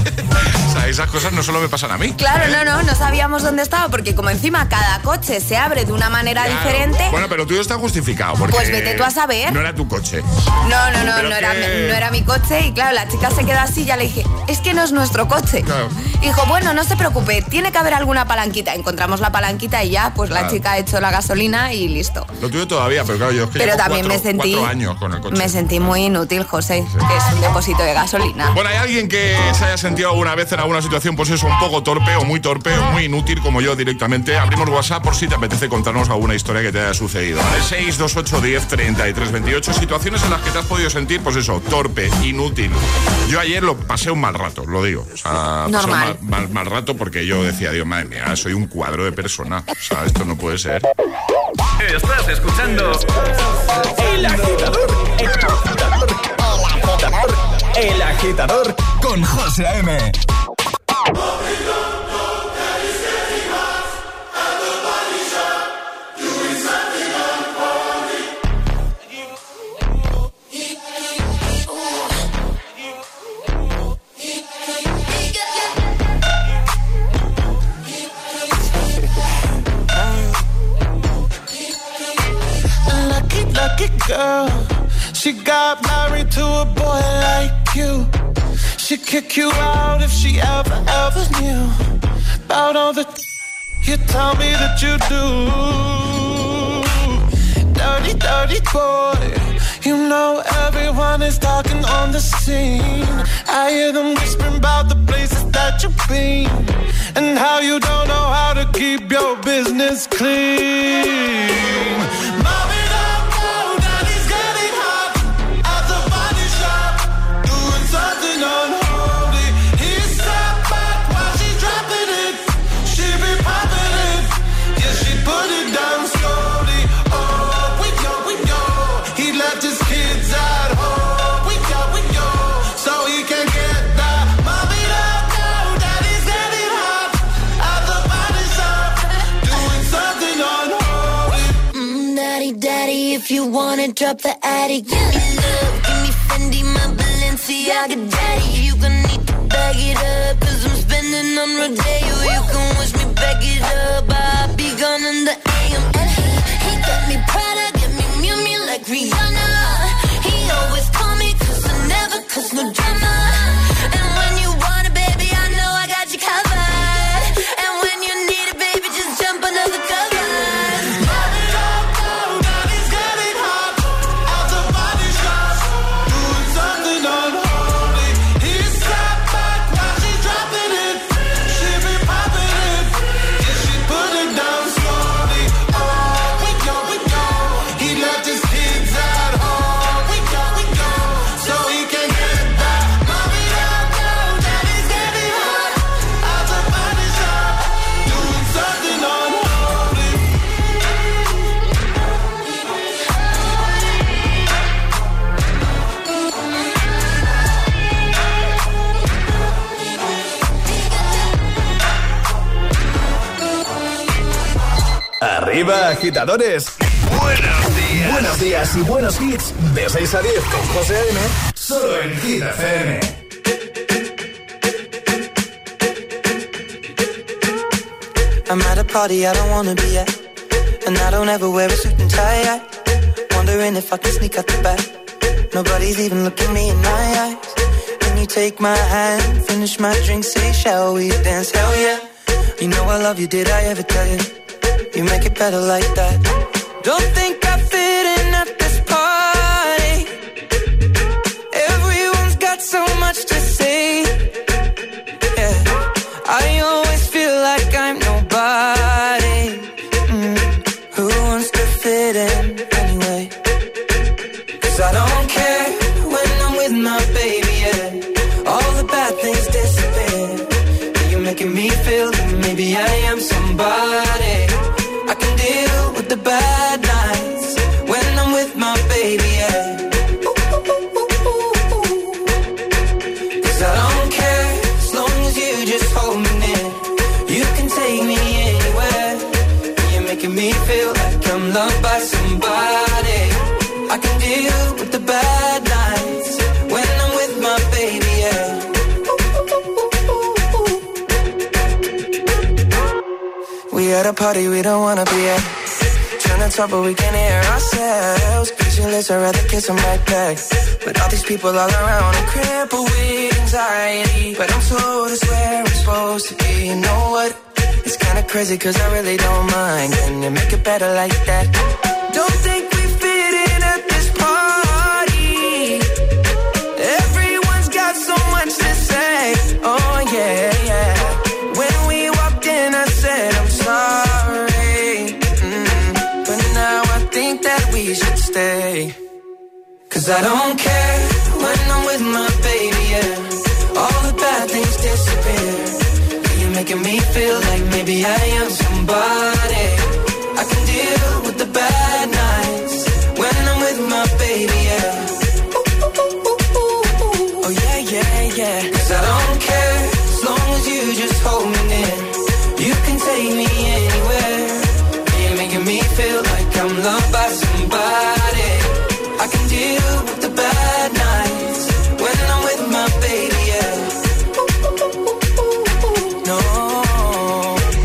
O sea, esas cosas no solo me pasan a mí. Claro, ¿eh? no, no, no sabíamos dónde estaba, porque como encima cada coche se abre de una manera claro. diferente... Bueno, pero tuyo está justificado, porque... Pues vete tú a saber. No era tu coche. No, no, no, no, que... era, no era mi coche y claro, la chica se queda así y ya le dije, es que no es nuestro coche. Claro. Dijo, bueno, no se preocupe, tiene que haber alguna palanquita. Encontramos la palanquita y ya, pues claro. la chica ha hecho la gasolina y listo. Lo tuyo todavía, pero claro, yo es que pero llevo también cuatro, me sentí, cuatro años con el coche. Me sentí muy inútil, José, sí. que es un depósito de gasolina. Bueno, ¿hay alguien que se haya sentido alguna vez en alguna situación, pues eso, un poco torpe o muy torpe o muy inútil como yo directamente? Abrimos WhatsApp por si te apetece contarnos alguna historia que te haya sucedido, ¿vale? seis dos ocho diez treinta y tres veintiocho, situaciones en las que te has podido sentir, pues eso, torpe, inútil. Yo ayer lo pasé un mal rato, lo digo. O sea, normal. Pasé un mal, mal, mal rato porque yo decía, Dios, madre mía, soy un cuadro de persona. O sea, esto no puede ser. Estás escuchando El Agitador. El Agitador. El Agitador. El Agitador con José M. lucky girl. She got married to a boy like you. She'd kick you out if she ever, ever knew about all the you tell me that you do. Dirty, dirty boy. You know everyone is talking on the scene. I hear them whispering about the places that you've been and how you don't know how to keep your business clean. Mommy, don't go, daddy's getting hot at the body shop, doing something unholy. He sat back while she's dropping it. She be popping it, yeah, she put it down slowly. Oh, we go, we go. He left his kids at home. We go, we go, so he can get that. Mommy, don't go, daddy's getting hot at the body shop, doing something unholy. Mm, daddy, daddy, if you wanna drop the attic, give me love, give me Fendi, my Balenciaga daddy. You gon' need to bag it up, cause I'm spending on Rodeo. You can wish me back it up, I'll be gone in the A M. And he, he got me Prada, get me Miu Miu like Rihanna. He always call me cause I never cause no drama. And when you want it, baby, I know I got you covered. And when you need it, baby, just jump under the covers. Mommy, don't go, daddy's getting hot at the body shop, doing something unholy. He sat back while she's dropping it. She be popping it, yeah, she put it down slowly. Oh, we go, we go. He left his kids at home. We go, we go, so he can get that. Mommy, don't go, daddy's getting hot at the body shop, doing something unholy. Arriba, agitadores. Buenos días. Buenos días y buenos hits. De seis a diez con José A M. Solo en Hit F M. I'm at a party I don't wanna be at, and I don't ever wear a suit and tie. I wondering if I can sneak out the back. Nobody's even looking me in my eyes. Can you take my hand, finish my drink, say shall we dance? Hell yeah. You know I love you, did I ever tell you? You make it better like that. Don't think I fit in at this party. Everyone's got so much to say. Yeah, I always feel like I'm nobody. Mm. Who wants to fit in anyway? Cause I don't care when I'm with my baby, yeah. All the bad things disappear. You're making me feel that maybe I am somebody. I can deal with the bad nights when I'm with my baby, yeah. Cause I don't care as long as you just hold me near. You can take me anywhere. You're making me feel like I'm loved by somebody. I can deal with the bad nights when I'm with my baby, yeah. We at a party we don't wanna be at. Trying to talk but we can't hear ourselves. Pictureless, I'd rather kiss them right back. But all these people all around, I'm crippled with anxiety. But I'm told it's where I'm supposed to be. You know what? It's kinda crazy cause I really don't mind. Can you make it better like that? Don't think we fit in at this party. Everyone's got so much to say. Oh yeah, yeah. When we walked in I said I'm sorry, mm. But now I think that we should stay. Cause I don't care when I'm with my baby, yeah. All the bad things disappear. You're making me feel like maybe I am somebody. I can deal with the bad nights when I'm with my baby, yeah. Oh yeah, yeah, yeah. Cause I don't care as long as you just hold me near. You can take me anywhere. You're making me feel like I'm loved by somebody. I can deal with the bad nights when I'm with my baby, yeah. No,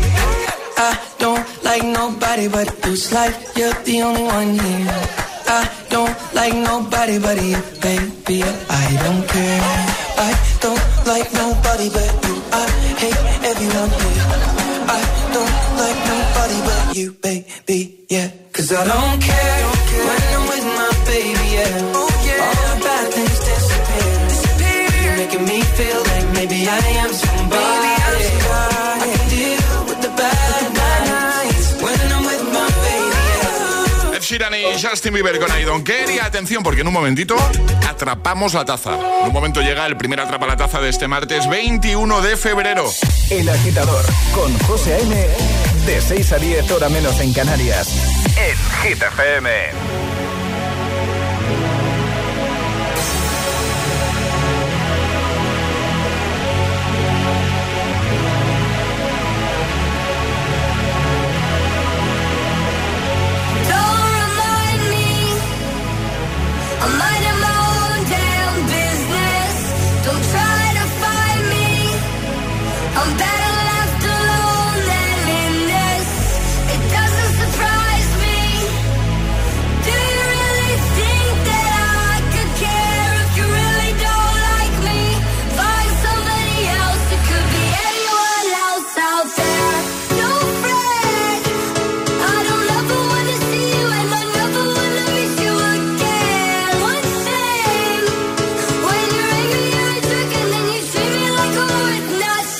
I don't like nobody but you. It's like you're the only one here. I don't like nobody but you, baby. I don't care. I don't like nobody but you. I hate everyone here. I don't like nobody but you, baby. Yeah, 'cause I don't care when I'm with my baby. Yeah, oh yeah. All the bad things disappear. disappear. You're making me feel like maybe I am somebody. Maybe I'm somebody. I can deal with the bad nights when I'm with my baby. Yeah. Ed Sheeran y Justin Bieber con I Don't Care. Y atención, porque en un momentito atrapamos la taza. En un momento llega el primer atrapa la taza de este martes veintiuno de febrero. El Agitador con José A M, de seis a diez, hora menos en Canarias, en Hit F M. I'm better left alone than in this. It doesn't surprise me. Do you really think that I could care if you really don't like me? Find somebody else. It could be anyone else out there. No friend. I don't ever wanna see you and I never wanna miss you again. One thing, when you're angry you're a jerk and then you treat me like a worth nothing.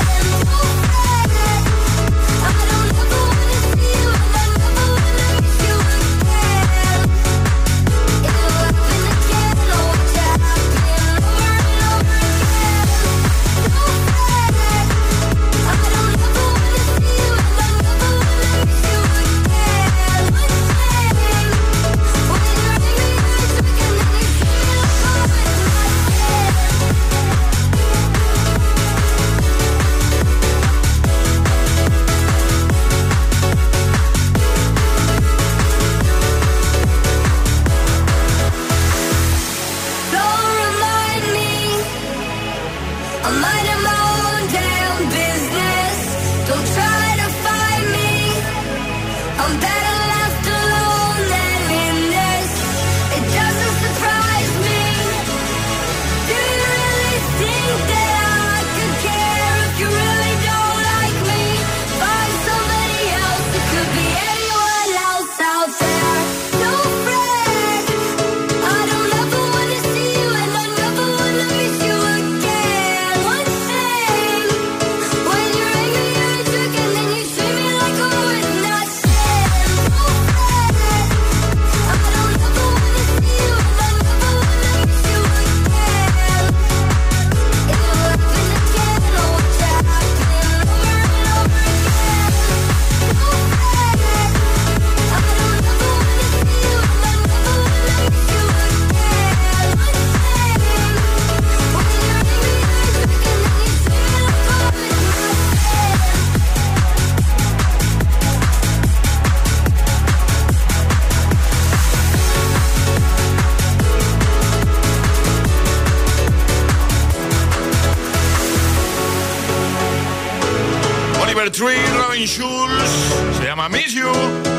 Robin Schulz, se llama Miss You.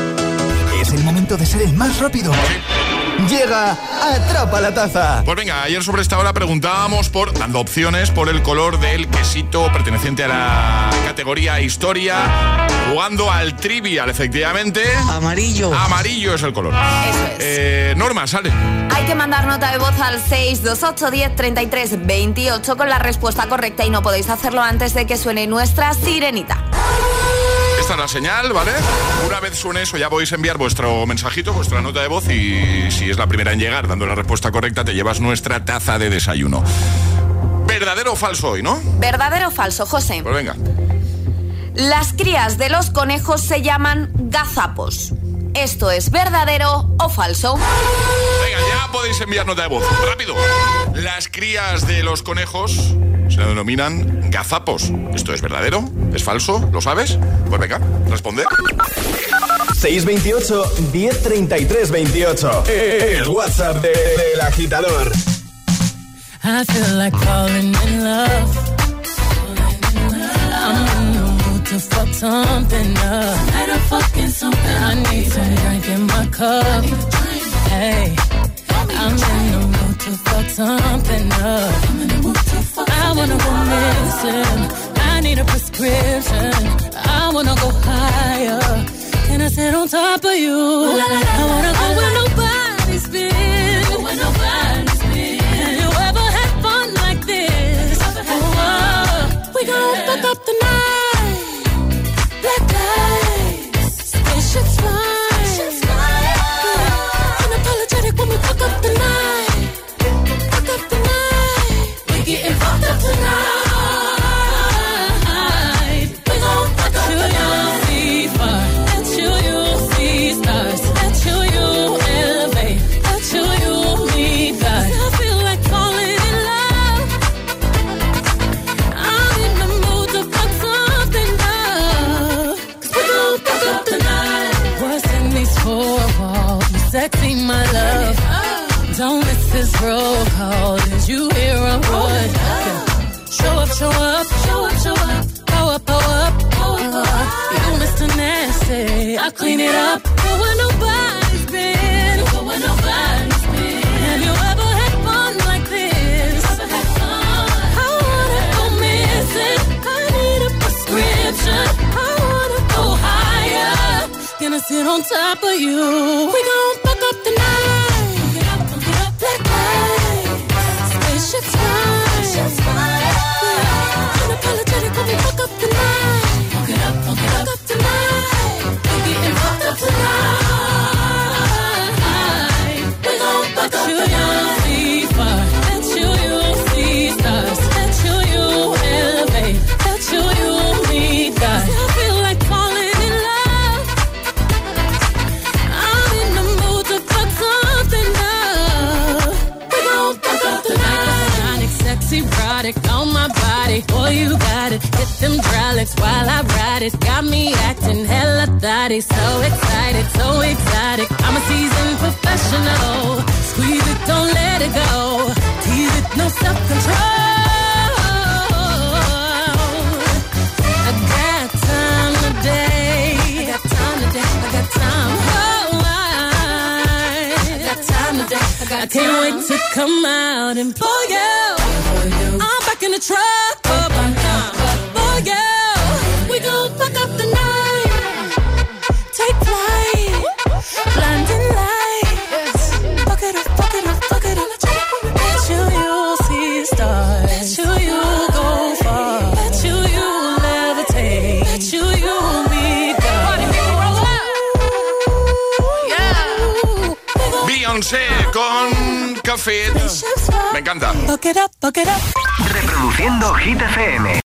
Es el momento de ser el más rápido. Llega Atrapa la Taza. Pues venga, ayer sobre esta hora preguntábamos por, dando opciones por el color del quesito perteneciente a la categoría Historia, jugando al Trivial, efectivamente. Amarillo. Amarillo es el color. Eso es. Eh, Norma, sale. Hay que mandar nota de voz al seis dos ocho, diez, treinta y tres, veintiocho con la respuesta correcta y no podéis hacerlo antes de que suene nuestra sirenita. Esta es la señal, ¿vale? Una vez suene eso ya podéis enviar vuestro mensajito, vuestra nota de voz y si es la primera en llegar dando la respuesta correcta te llevas nuestra taza de desayuno. ¿Verdadero o falso hoy, no? ¿Verdadero o falso, José? Pues venga. Las crías de los conejos se llaman gazapos. ¿Esto es verdadero o falso? Venga, ya podéis enviar nota de voz. ¡Rápido! Las crías de los conejos se denominan gazapos. ¿Esto es verdadero? ¿Es falso? ¿Lo sabes? Pues venga, responde. seis veintiocho, diez treinta y tres veintiocho. El WhatsApp de, de El Agitador. I feel like falling in love. I'm in the mood to fuck something up. I need some drink in my cup. Hey. listen. I need a prescription. I wanna go higher. Can I sit on top of you? La, la, la, I wanna go where nobody's been. Go where nobody's been. Have you ever had fun like this? Oh, oh. We gon' fuck up the night. Black lights, spaceships fly. Yeah. Unapologetic when we fuck up the night. Fuck up the night. We getting fucked up tonight. We gon' fuck up the night. See fire. At you, you see stars. At you, you elevate. At you, you meet God. I feel like falling in love. I'm in the mood to fuck something up. 'Cause we gon' fuck up the night. What's in these four walls? You sexy, my love. Don't miss this roll call. Did you hear a word? Show up, show up, show up, show up. Pow up, pow up, pow up. You Mister Nasty, I clean it up. Go where nobody's been. Go where nobody's been. Have you ever had fun like this? Ever had fun? I wanna go missing. I need a prescription. I wanna go higher. Gonna sit on top of you. We gon' fuck up the night. Black lights, spaceships fly. Yeah. Unapologetic when we fuck up the night. Fuck it up, fuck it up, fuck up tonight. We getting fucked up tonight. We gon' fuck up the night. See fire. At you, you see stars. At you, you elevate. At you, you meet God. I feel like falling in love. I'm in the mood to fuck something up. We gon' fuck up the night. Sexy, erotic on my body. Boy, you got it. Hit them hydraulics while I ride it. Got me acting hella thotty. So excited, so exotic. I'm a seasoned professional. Squeeze it, don't let it go. Tease it, no self-control. I got time today. I got time today. I got time. Oh, I, I got time today. I, got I can't time. Wait to come out and pull you. I'm back in the truck. Up and down. For you. We gon' fuck up the night. Take flight. Blinding lights. Fuck it up, fuck it up, fuck it up. Bet you you'll see stars. Bet you you'll go far. Bet you you'll levitate. Bet you you'll meet God. Yeah. Beyoncé con Café. Me encanta. Fuck it up, fuck it up. Reproduciendo Hit F M.